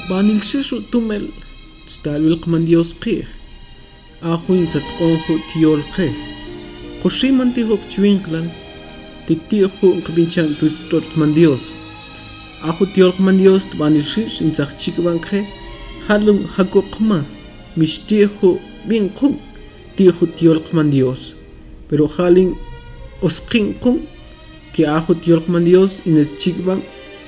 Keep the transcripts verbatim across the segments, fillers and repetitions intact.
banil shishu tumel stalwil qman Dios qih ajuin satqonju tiol qih qushiman tihok chwinklan titihu qbinchan tutot qman Dios aju tiol qman Dios banil shish inzaq chikban qih halum hakoqma mishtihu bin qum tihu tiol qman Dios pero halin osqin qum que aju tiol qman Dios ines chikban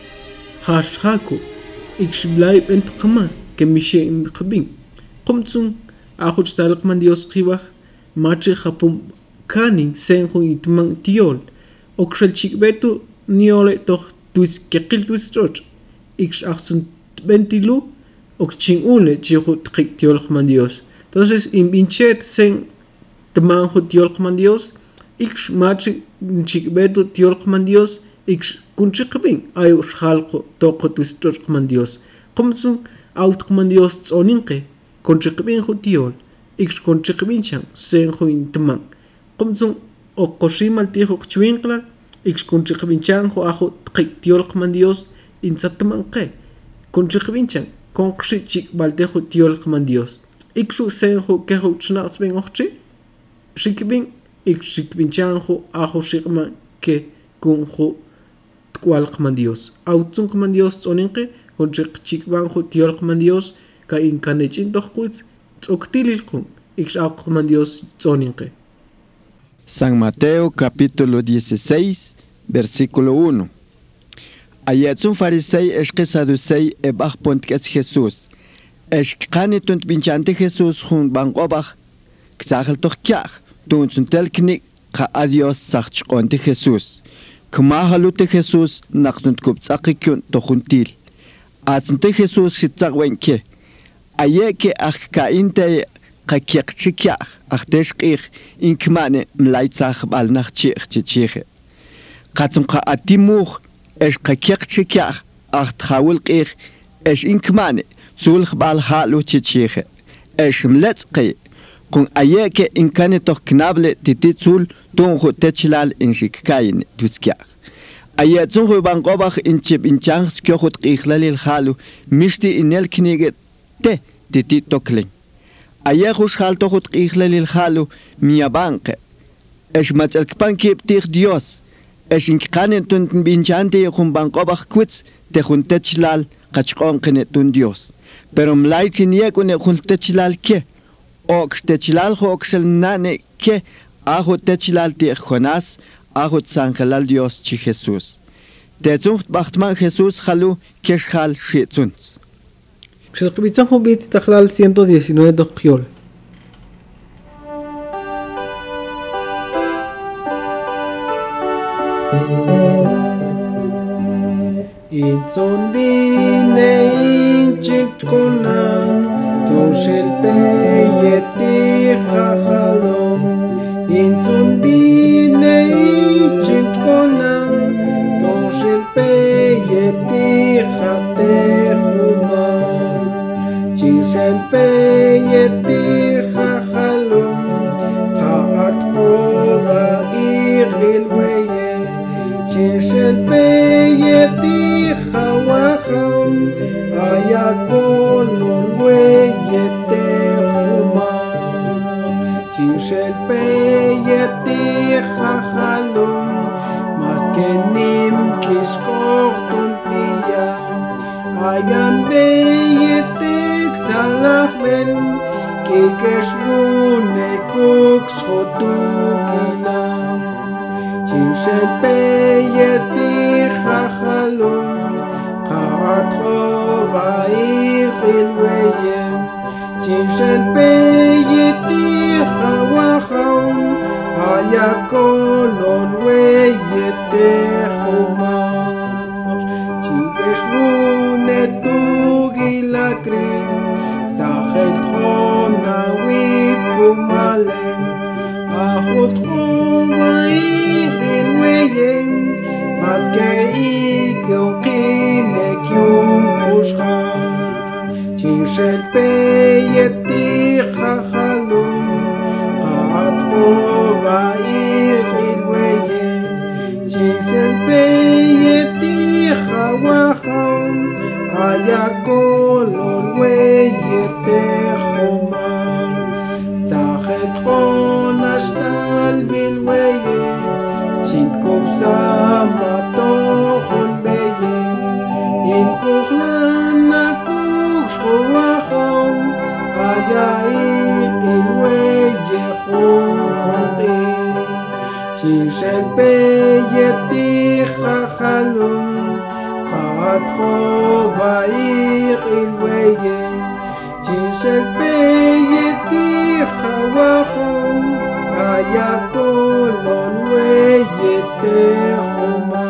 hashhaku ikshblay bent qama que mishe qbin qumtsun aju stal qman Dios qibaj machi khapum kanin senju itman tiol okshel chikbetu niole toj tuis keqil tuis choch iksh ahsun bentilu okchin ule chihu tqik tiol qman Dios entonces in binchet sen tmanju tiol qman Dios iksh machi chikbetu tiol qman Dios iksh kunchiqbin ayu xalqo toqo tuis choch qman Dios qumsun aut qman Dios tsoninqe konchiqbin ju tiol iksh konchiqbin chan senju intman qumsun oqoshimal tihu qchwinqla iksh konchiqbin chan ju aju tqik tiol qman Dios insatmanqe konchiqbin chan konqshi chik balteju tiol qman Dios ikshu senju keju chnaqsbin oqchi shikbin iksh shikbin chan ju aju shiqman ke kunju tkwal qman Dios autsun qman Dios tsoninqe konchiq chikban ju tiol qman Dios ka inkanechin tojquitz tzoktililqun iksh aq qman Dios tsoninqe. San Mateo capítulo dieciséis versículo uno. Ayatsun farisei eshke saducei ebach pontkets Jesús. Eshkani tunt binchante Jesús hun banqobach ksachel toch kjach tuntsuntel knik ka adios sachchqonte Jesús. Kmahalute Jesús naqtunt kuptsaqikyun tojuntil. Atsunte Jesús sitzaqwenke. Ayeke akka inte qakiqchikya ahteshqih inkmane mlaitsaq balnaqchich chichiche. Qatsunqa atimuh esh qakiqchikya ahtkhawilqih esh inkmane sulh bal halu chichiche. Esh mletzqi kun ayeke inkane toqnable tititsul tunju techlal inshikkain tuskya. Ayatsun huban qobach inchib inchang skyohut qihlalil halu mishti inel knige te titi toklen. Ayahush hal tohut qihlalil halu miyabanqe. Esh matzelkpan kiptih Dios. Esh inkkanen tuntun binchante humban qobach kwitz te juntechlal qachqonqene tun Dios. Pero mlaitin yekune juntechlal ke. Ox techlal hoxel nane ke ahu techlal ti Jonas ahut sangelal Dios chi Jesús. Tetzucht bachtman Jesús halu keshal shitzuns. Xelqbitzan hubit takhlal ciento diecinueve doqyol. Itzon bine inchikuna tushel peyeti khahalom Itzon bine inchikuna tushel peyeti khatehuma Chishel peyeti khahalom Khaat oba irilweye Chishel peyeti khawaham Ayakolol weyete huma Chishel peyeti khahalom Maskenim kishkortun piya Ayan beyeti tzalachmen Kikeshmune kukshotukilam Chishel peyeti khahalom Qaat khoba iqilweyem Chishel peyeti khawaham Ayakolol weyete khumar Chigeshvune tugila Christ Sachel khona wipumalem Achot khoba iqilweyem Mazke ikilkine kyum khushcha Chishel peyeti khahalum Qaat khoba iqilweyem Chishel peyeti khawaham Ayakol Chinshel peyeti jajalum Katro bair ilweye Chinshel peyeti jawaham Ayakolon weye tehoma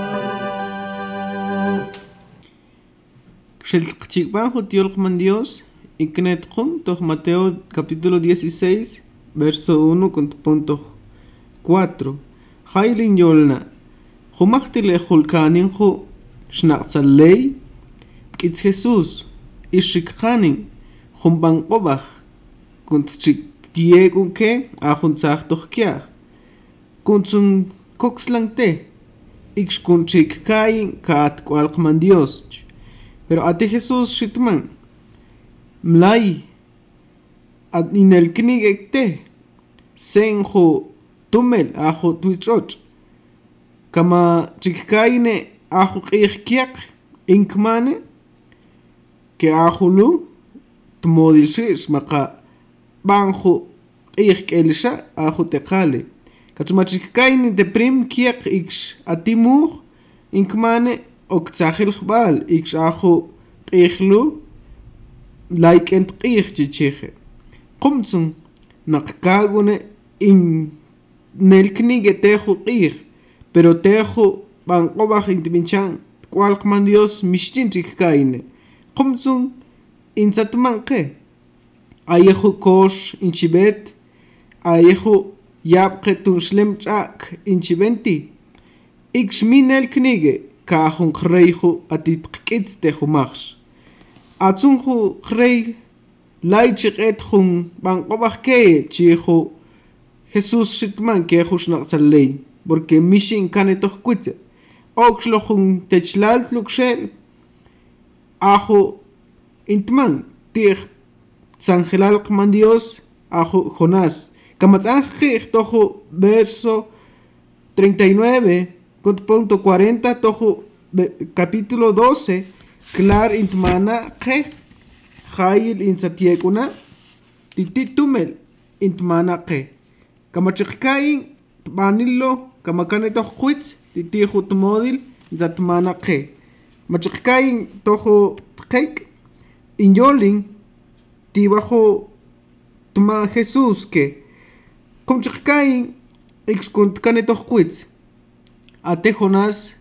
Xelqchikbanjo tiolqman Dios Iknetqum toh Mateo capítulo dieciséis verso uno con punto cuatro. Jailin yolna. Humachtil ejulkaninju shnaqzalei. Kitz Jesús. Ishikhanin. Humban obach. Kunt chik tiegun ke. Ahun zachtoch kiach. Kuntsun koxlangte. Ix kun chik kain kaat kwalkman Dios. Pero ate Jesús shitman. Mlai. Ad inel knig ekte. Senjo. Tumel ajo tuichoch. Kama chikkaine ajo qihkiak inkmane ke ajulu tmodilshish maqa banjo qihkelisha ajo teqale. Katuma chikkaine de prim kiak ix atimur inkmane oktsahil khbal ix ajo qihlu like ent qih chichiche. Qumtsun naqkagune in Nelknige tejo qih, pero tejo banqobaj intibinchan kwalqman Dios mishtin chikkaine. Qumtsun insatmanqe. Ayejo kosh inchibet, ayejo yabqe tunshlem chak inchibenti. Ix min nelknige kahun qreijo atit qkitz tejo machs. Atsunju qrei laichik etjun banqobaj ke chijo Jesús shitman que jushnaqzalei, porque mishin kanetoh kuitze. Oxlohun techlal tluxel. Ajo intman, tir zangelal qman Dios, ajo Jonás. Kamatzanjij tojo verso treinta y nueve, punto cuarenta, tojo capítulo doce, clar intmana que, jail insatiekuna, tititumel intmana que. Kama chikkain banillo kama kanetoh quits titijo tmodil zatmana qe. Machikkain tojo tqek inyolin tibajo tma Jesús que kum chikkain ix kunt kanetoh quits. Ate Jonás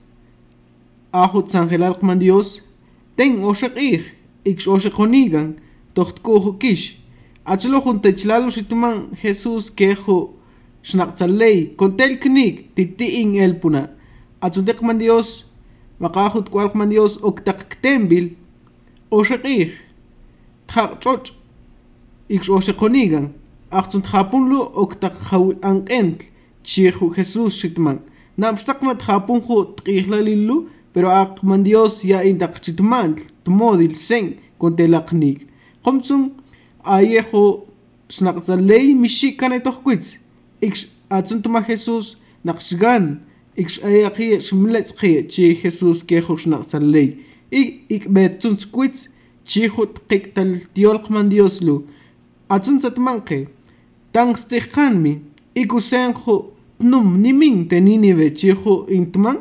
ajo tsangelal qman Dios ten oshaqih ix oshaqonigan tohtkojo kish. Atzlo juntechlalo shitman Jesús quejo shnaqzalei kontel knig titiing elpuna atzundekman Dios maqajut kwalqman Dios oktaqtembil oshaqih tjaqchoch ix oshaqonigan aqtsunt japunlu oktaqhaw anqent chihu Jesús shitman namshtaqna tjapunju tqihlalillu pero aqman Dios ya intaqchitman tmodil sen kontelaqnig qomtsun ayejo shnaqzalei mishikanetoh quits ix atzuntuma Jesús naqshgan ix ayaqi shmletzqi chi Jesús quejo shnaqzalei ik ik betzuns quits chihut qiktal tiolqman Dios lu atzunsatmanqe tangstihqanmi ikusenjo tnum nimin teninive chihu intman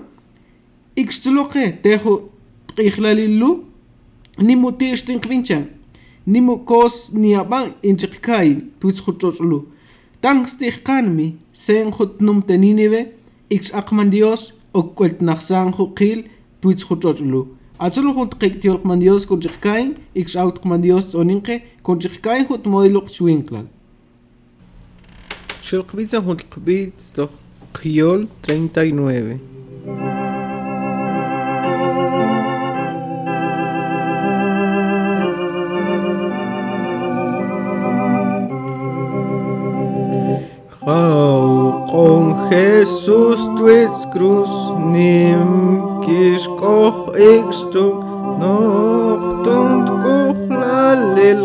ixtzuloqe tejo qihlalillu nimutishtinqvinchan nimu kos ni aban inchikkai tuitzhuchoslu tangstihqanmi senjut num teninive ix aqman Dios okwelt naxsanju qil tuitzhuchoslu azulu junt qiktiolqman Dios kunchikkai ix autqman Dios oninqe kunchikkai jut modiluq chwinklal shilqbitza junt qbitz doch qiol treinta y nueve. Con Jesús tuits cruz nim kishkoch ixtum nochtund kuchlalil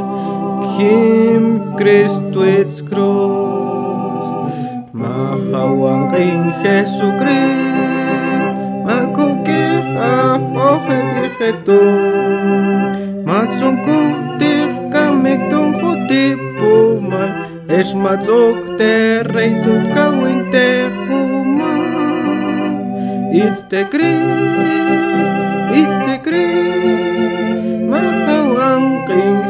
kim Christuits cruz machawan in Jesucrist makukich afochet lichetum matzunkutik kamiktum chutipuman es matzok te rey tu kawin te It's the Christ, it's the Christ, Mahawan King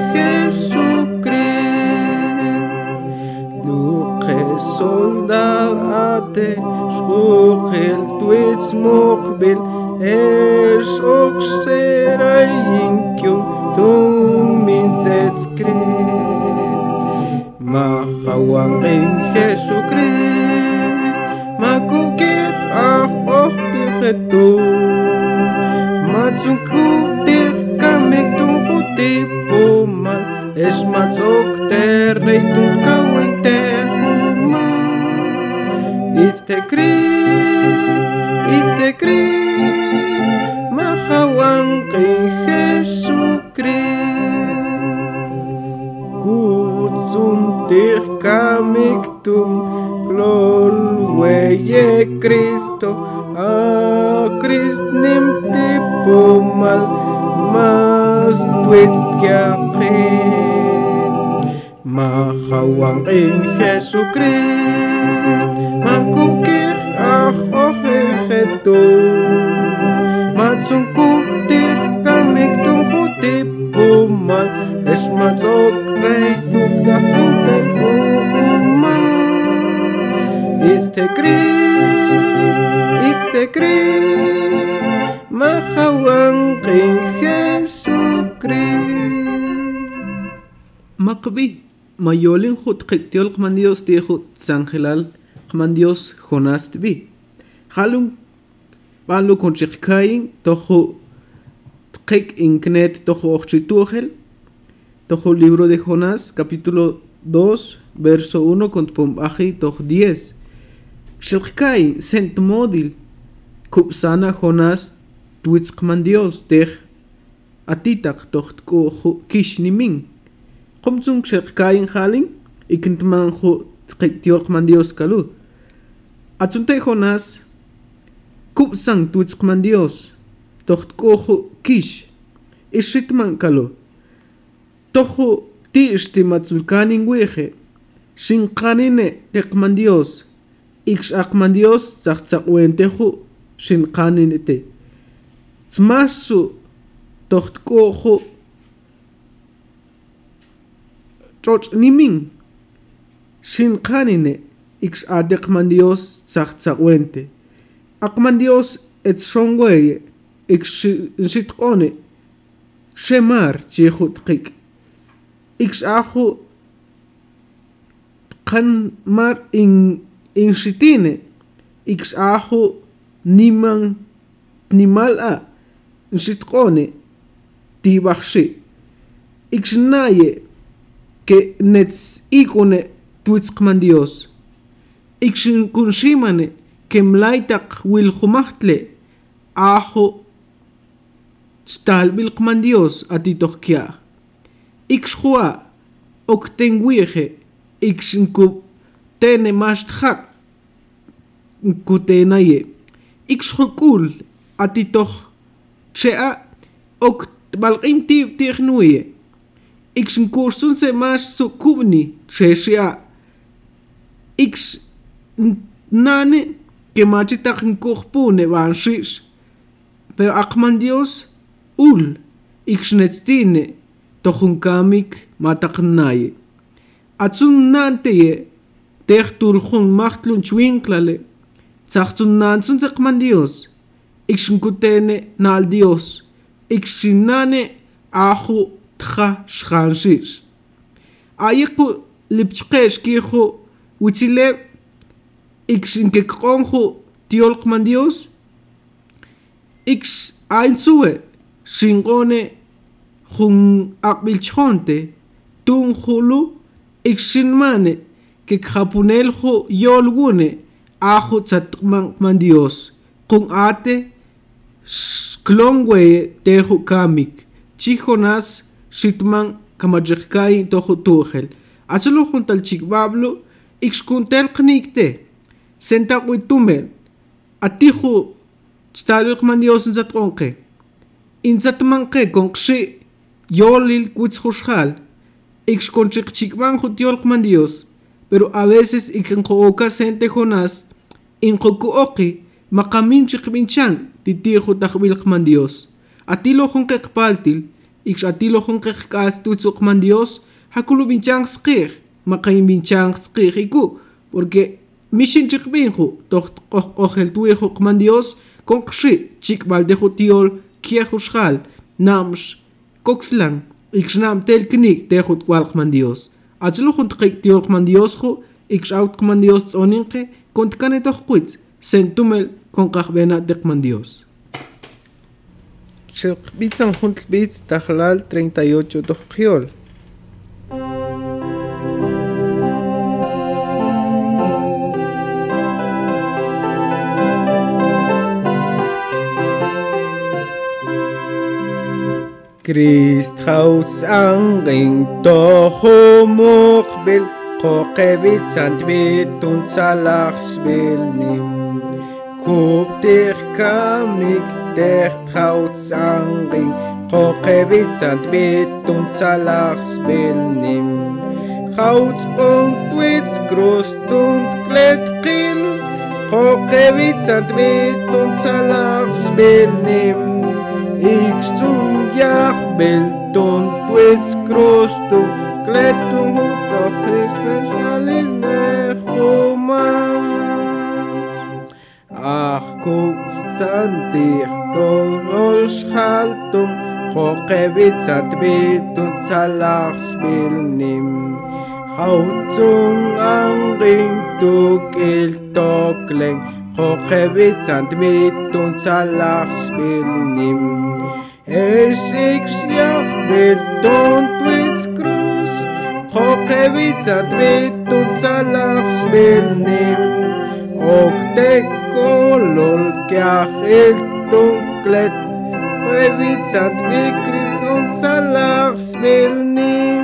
Jesucrist. Luche soldate, Schuchel tuits mokbil, Esh oxera inkyum, Tum minzets Christ. Mahawan King Jesucrist, Makukif af ochtigetu, Matzunkutif kamik tum chutipumal, Es matzok terreitum kawen tehumal. It's the Christ, it's the Christ, Mahawan King Jesucrist. Kutzum dich kamiktum, Glol weye Cristo, a Christ nimmt pumal, mas twist yakin. Mahawan King Jesucrist, makukich ach ochechetu, matzungkutich kamiktum chutipumal, es matzok reitut gafentel fufumal. It's the Christ, it's the Christ, Mahawan King Jesucrist. Makbi, mayolin hut qiktiol qman Dios tihut sangelal qman Dios Jonás tbi. Halun balu konchikain tohu qik inknet tohu ochchituhel. Tohu libro de Jonás capítulo dos verso uno con pombaji toh diez. Shilkai sent modil kupsana Jonás tuits qman Dios teh atitak toh ko kish nimin. Qumtsung shilkai halin ikintman khu qiktiol qman Dios kalu. Atsunte Jonás kupsang tuits qman Dios toh ko kish ishitman kalu. Tohu ti istimatzulkanin weje shinqanine teqman Dios ix aqman Dios tzaqtzaqwenteju shinqaninete tsmasu tohtkoju choch nimin shinqanine ix ateqman Dios tzaqtzaqwente aqman Dios et shongweye ix shitqone shemar chihutqik ix ajo kan mar in in shitine ix ajo niman nimal a shitqone tibaxi ix naye que nets ikone tuitzqman Dios ix kunshimane que mlaitaq wil khumachtle ajo stalbil qman Dios atitohkia Ixhua oktenguije ixnku tene mashtjak nkutenaye ixhukul atitoh chea ok balqin tib tignuye ixnkursun se mas sukubni cheshia ix nane que machitak nkuhpune banshish pero aqman Dios ul ixnetstine tohunkamik mataqnaye atsun nanteye tehturjun mahtlun chwinklale tsachtun nansun seqman Dios ixnkutene nal Dios ixinane ahu tja shkhanshish ayiqu lipchqesh kihu wichile ixinkeqonju tiolqman Dios ix ainsuwe shinqone jun aqbilchonte tun hulu ixinmane que japuneljo yolgune ajo tzatman man Dios kun ate klongwe tejo kamik chijonas shitman kamajkai tojo tugel azulo juntal chikbablo ixkuntel knikte senta witumel atijo tstaluk man Dios nzatqonqe inzatmanqe konqshi Yolil kutzhushal, ix conchichikban jutiolkman Dios, pero a veces ikenjooka sente Jonás, injokuoki, maqamin chiqbinchan titijo tajbilqman Dios atilo jonqeqpaltil ix atilo jonqeqkas tutsuqman Dios hakulu binchan sqij maqayin binchan sqij iku porque mishin chiqbinju toj ojel tuijo qman Dios konqshi chikbaldejo tiol kiejushal namsh koxlan ixnam tel knik tejut walqman Dios atlo juntqik tiol qman Dios jo ixaut qman Dios oninqe kontkane tojquitz sentumel konqajbena deqman Dios Shilqbitzan juntlbitz tajlal treinta y ocho tojqiol Christ hauts anging toho mukbil qoqebit sandbit und salachsbil nim kub dich kamik dich hauts anging qoqebit sandbit und salachsbil nim hauts und wits groß und kletqil qoqebit sandbit und salachsbil nim Ik stond jaag belton twits krosto kletum toch is versnelling negomas Ach kost santig kon ol schaltum qoqebit sandbit und salachsbil nim Hautung anging tukil tokleng qoqebit sandbit und salachsbil nim Es ik sjach belton twits krus qoqebit sandbit und salachsbil nim Ok te kolol kach el tunklet qoqebit sandbit krist und salachsbil nim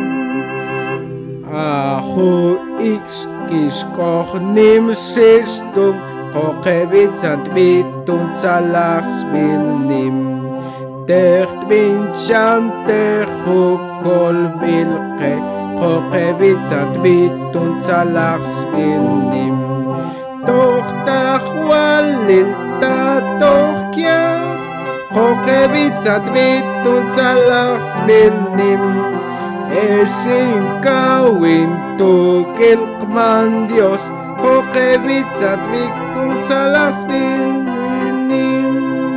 Aho ik kiskoch nim sistum qoqebit sandbit und salachsbil nim Techt binchan techu kol bilqe qoqebit sandbit und salachsbil nim Toch tach walil ta toch kiach qoqebit sandbit und salachsbil nim Esin kawin tukil qman Dios qoqebit sandbit und salachsbil nim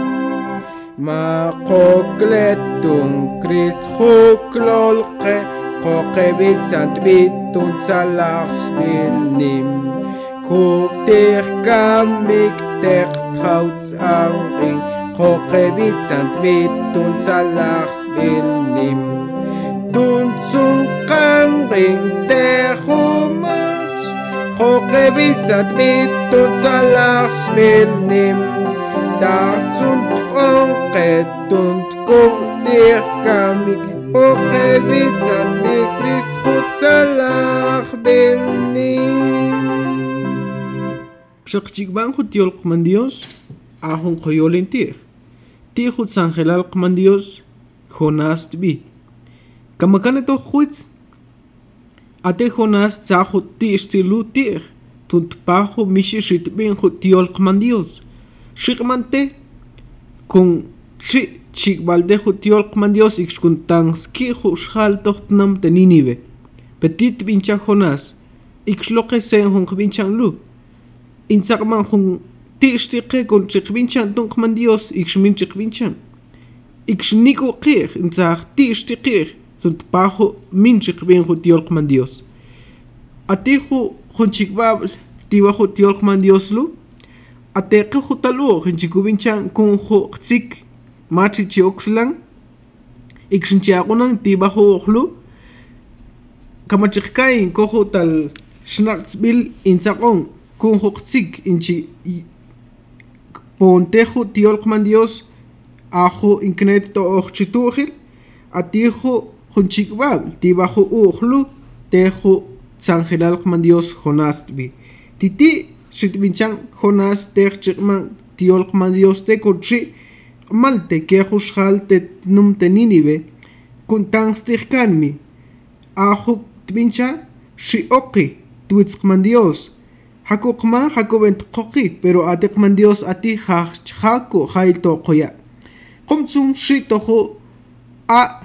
Ma qoqletum Christ xuklolqe qoqebit sandbit und salachsbil nim Kub dich kamik dich hauts anging qoqebit sandbit und salachsbil nim Dun zum qanging techumach qoqebit sandbit und salachsbil nim Das und onqet und kub dich kamik qoqebit sandbit Christ khut salachsbil nim Shaqchikban khut tiol qman Dios ahun qoyolin tih Tih khut sangelal qman Dios Jonás tbi Kamakane to khut Ate Jonás tsahut ti istilu tih Tunt pahu mishishit bin khut tiol qman Dios Shikmante Kun chi chikbalde khut tiol qman Dios Ikshkun tanski khushal tohtnam te Ninive Petit bincha Jonás Ikshloqe sen hun qbinchan lu Insaqman hun ti ishtiqe kun chiqbinchan tun qman Dios Ikshmin chiqbinchan Ikshniku qih insaq ti ishtiqih Sunt pahu min chiqbin khut tiol qman Dios Atihu hun chikbabl Tiwa khut tiol qman Dios lu Ateqe khutalu hinchikubinchan kun khu qtsik machi chioxlan ikshinchiaqunan tibahu ukhlu kamachikain ko tal schnaxbil insaqon kun khu qtsik inchi pontejo tiol qman Dios ajo inknet to oxchitukhil atijo hunchikbab tibahu ukhlu tejo sangelal qman Dios Jonás bi titi Shitbinchan Jonás techchikman tiol qman Dios te kurchi malte ke khushal te num te Ninive kun tangstikkanmi ahu tbincha shi oqi twits qman Dios Hakukma hakubent koki, pero atekman Dios ati haku hailto koya. Komtsum shitoho a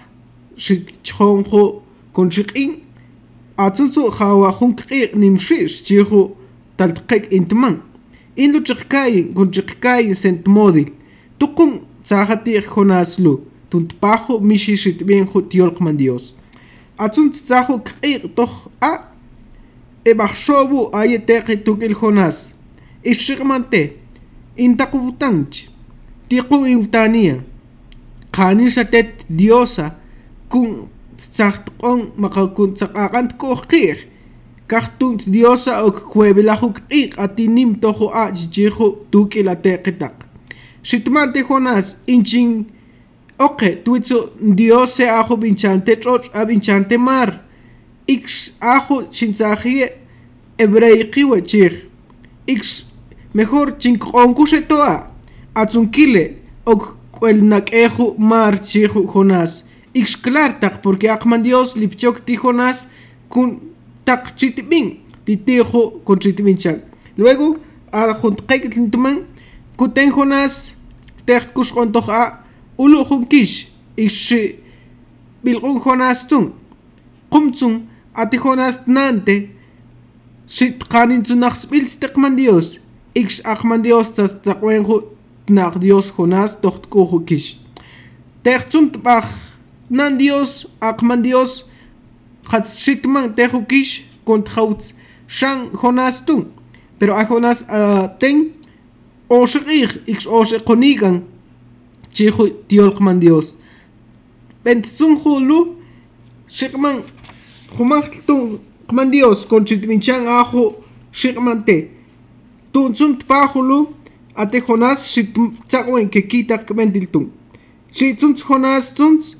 shitchonho konchikin. Atsunsu hawa hunkik nimshish chihu taltkek intman. Inlu chikayin konchikayin sent modil. Tukun tsahati honaslu. Tuntpaho mishishit bien tiolkman Dios. Atsunt tsahu kik toch a. Ebaxobu ayeteki tukil Jonás. Ishigmante. Intakubutanch. Tiku imtania. Kanishatet diosa. Kun tsakton makakun tsakakant kokir. Kartunt diosa ok kwebilahuk ik atinim toho a jijiho tukil atekitak. Shitmante Jonás inchin. Oke, tuitso diose ajo binchante troch a binchante mar. Ix ajo chinzahie hebreiqui wechir. Ix mejor chinkonkushe toa. Atzunkile ok kuelnak eju mar chihu Jonás. Ix klartak porque akman Dios lipchok ti Jonás kun tak chitibin. Titijo con chitibinchan. Luego, a juntqek tintuman, kuten Jonás terkus ontoja ulu junkish. Ix bilgun Jonás tun. Kumtsung ati Jonás nante shit kanin tsunach spils tekman Dios. Ix akman Dios tatakwenju tnak Dios Jonás tohtkuju kish. Tertsunt bach nan Dios akman Dios hat shitman teju kish kont hauts shan Jonás tun. Pero a Jonás uh, ten oshir ix oshir konigan chihu tiolkman Dios. Bentsunju lu shikman Jumachtun kman Dios con chitminchan ajo shikmante. Tunsunt pahulu ate Jonás shit tsakwen que kita kmentiltun. Shitsunt Jonás tsunt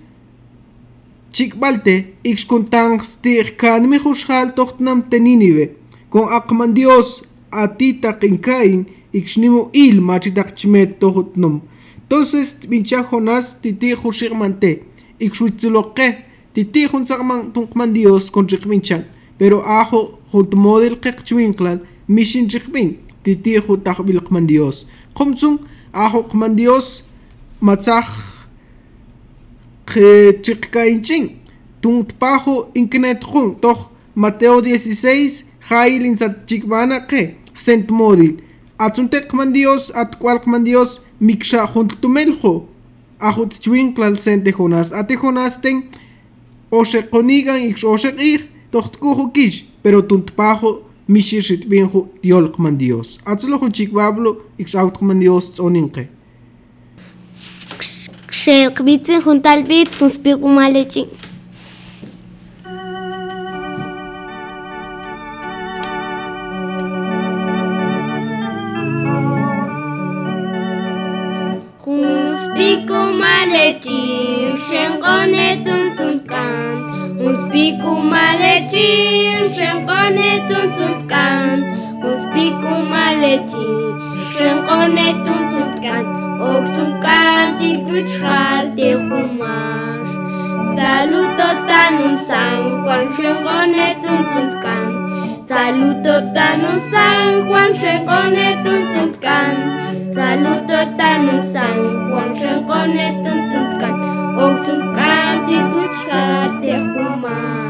chikbalte ix kuntang stir kan mi hushal tochtnam teninive. Con akman Dios atita kinkain ix nimo il machitak chmet tohutnum. Entonces mincha Jonás titi hushikmante. Ix witzuloke. Titi jun sakman tunkman Dios con chikminchan. Pero ajo junt model kekchwinklan mishin chikmin. Titi jun takbilkman Dios. Komsung ajo kman Dios matzach ke chikkainching. Tunt pajo inknet jun toch Mateo dieciséis jailin sat chikbana ke sent model. Atsuntek kman Dios at kwalkman Dios miksha junt tumeljo. Ajo chwinklan sente Jonás. Ate Jonás ten Oshe konigan ix oshe ich tochtkuju kish, pero tuntpajo mishishit binju tiolkman Dios. Atzlo jun chikbablo ix autkman Dios tsoninke. Kshekbitzen juntal bits kun spiku malechi. Kun spiku malechi, shenkone tuntunkan. Un spiku malechi, shenkone tuntunkan. Un spiku malechi, shenkone tuntunkan. Oksunkan tikluchal de humash. Saluto tanun San Juan, shenkone tuntunkan. Saluto tanun San Juan, shenkone tuntunkan. Saluto tanun San Juan, shenkone tuntunkan. Oksunkan tikluchal de humash.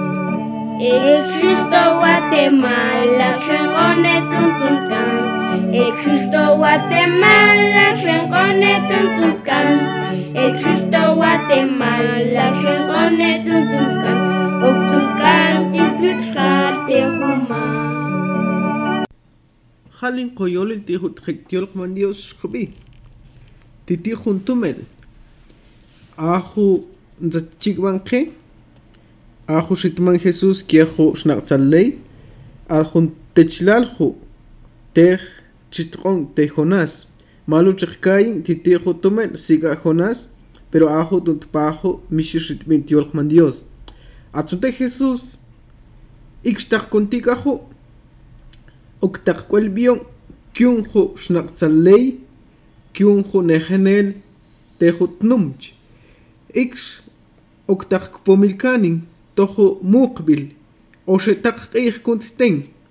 Existo Guatemala, shenkone tuntunkan. Existo Guatemala, shenkone tuntunkan. Existo Guatemala, shenkone tuntunkan. Oksunkan tikluchal de humash. Halin koyol el tijut hektiolkman Dios khubi. Titi juntumel. Ahu nzachikbanke. Ahu shitman Jesús kiehu shnaqtzalley. Ahun techlalhu. Tej chitron te Jonás. Malu chikkayin titi jutumel siga Jonás. Pero ahu tuntpahu mishishitmin tiolkman Dios. Atzunte Jesús. Ixtak kontikahu. Oktak kwelbion. Kyunhu shnaqtzalley. Kyunhu nejenel. Tejutnumch. Ix oktak pomilkanin. Tojo mukbil. Oshe tak eich kunt ten.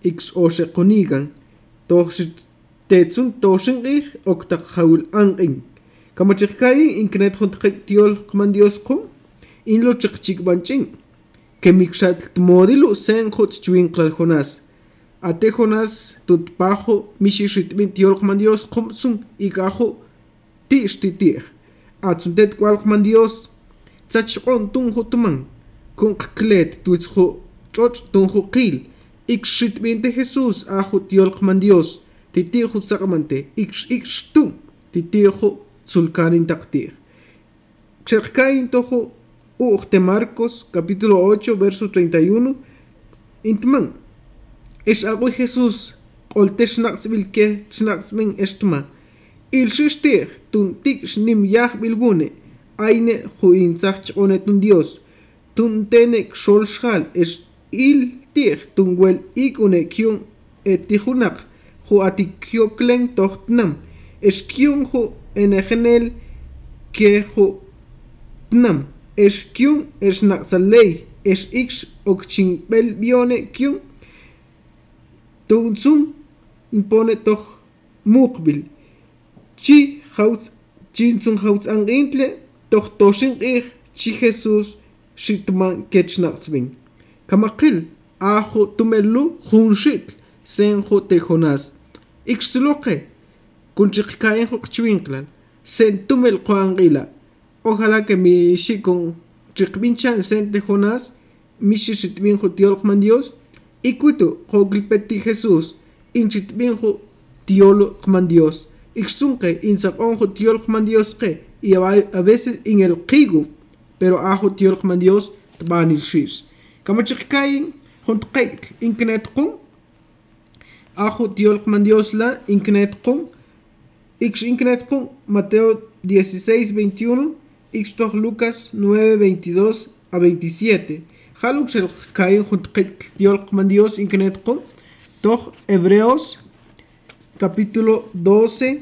ix ose qunigan toxit tetsun toshin ig okta khawul angin kamachikkai inknet huntqik tiol qman Dios qum inlo chiqchik banchin kemikshat modelo sen khut chwinqlal Jonas ate Jonas tutpajo mishishitmin tiol qman Dios qum sun ikajo tishtitir atsuntet kwal qman Dios tsachqon tunju tuman kun qklet tuitsjo choch tunju qil ixitminte Jesús ajo tiol qman Dios titijo saqmante ix ix tu titijo sulkanin taqtir Xerkain tojo Uchte Marcos capítulo ocho verso treinta y uno intman es algo Jesús qolte shnaqsbilke shnaqsmin estma il shishtir tun tik shnim yah bilgune aine juin sach onetun Dios tun tene xolshal es il tir tun wel ikune kyun etihunaq ju atikyo klen tohtnam es kyun ju enegenel ke ju tnam es kyun es naqsalei es ix okchin bel bione kyun tunsun pone toch muqbil chi haus chinsun haus angintle toch toshin ich chi Jesús shitman ketchnaqsbin kamakil ajo tumelu junshit sen jo te Jonas ixloque kunchiqkaen jo chwinklan sen tumel qoangila ojalá que mi shikon chiqbinchan sen te Jonas mi shitbin jo tiol qman Dios ikutu jo glipeti Jesús inchitbin jo tiol qman Dios ixsunque insaqon jo tiol qman Dios que y a veces en el qigu pero ajo tiol qman Dios tbanil shish kamachiqkain juntqek inknet qum ajo tiol qman Dios la inknet qum ix inknet qum Mateo dieciséis veintiuno ix toch Lucas nueve veintidós a veintisiete haluk xelqkain juntqek tiol qman Dios inknet qum toch Hebreos capítulo doce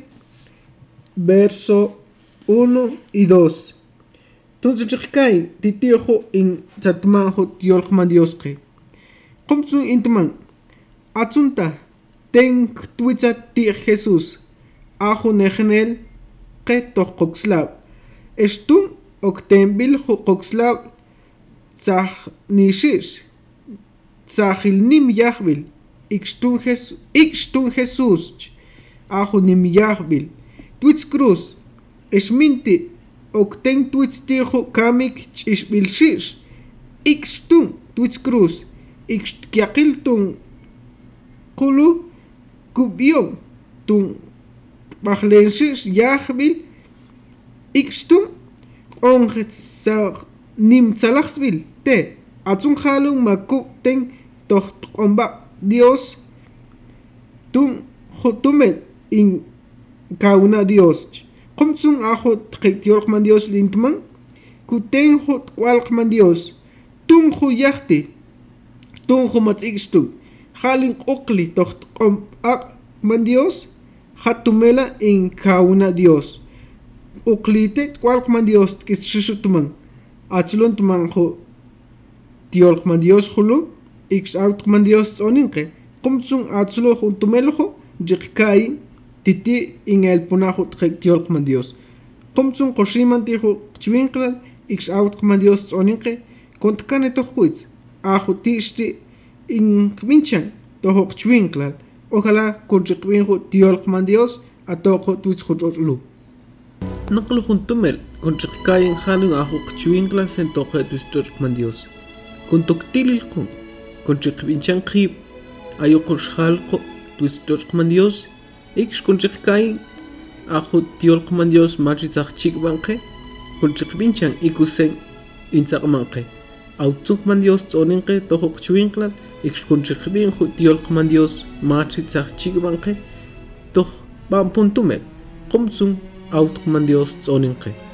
verso uno y dos entonces chiqkain titijo in chatmanjo tiol qman Dios que qumsun intman atsunta ten tuitza ti Jesús ajo negenel que toch qoxlab estun oktembil jo qoxlab sah nishish sahil nim yahbil ixtun Jesús ixtun Jesús ajo nim yahbil tuitz cruz esminti okten tuitz tijo kamik chishbil shish ixtun tuitz cruz ixtkiaqiltun qulu kubion tun bajlensis yahbil ixtun onjetsag nimtzalaxbil te atsun jalun makuten toh qomba Dios tun jotumel in kauna Dios qumsun ajo tqitiol qman Dios lintman kuten hot kwal qman Dios tun jo yahti tun jo matzixtu halin qokli toh qomba qman Dios hatumela in kauna Dios uklite kwal qman Dios kishishutuman atzlon tuman jo tiol qman Dios hulu ix out qman Dios oninqe qumsun atzlo juntumeljo jiqkai titi in el punajo tiol qman Dios qumsun qoshiman tijo chwinqlal ix out qman Dios oninqe kontkane tohquitz ajo tishti in qminchan tojo chwinqlal ojalá conchiqbinjo tiol qman Dios atoqo tuitz jochlu naqlu juntumel conchiqkayin halun ajo qchwinqlal sen toqe tuitz qman Dios kontoktilil kun conchiqbinchan qib ayoqosh halqo tuitz qman Dios ix conchiqkayin ajo tiol qman Dios machitzaq chikbanqe conchiqbinchan ikusen insaqmanqe autzun qman Dios tsoninqe tojo qchwinqlal ix conchiqbinjo tiol qman Dios machitzaq chikbanqe toj bam puntumel qumsun aut qman Dios tsoninqe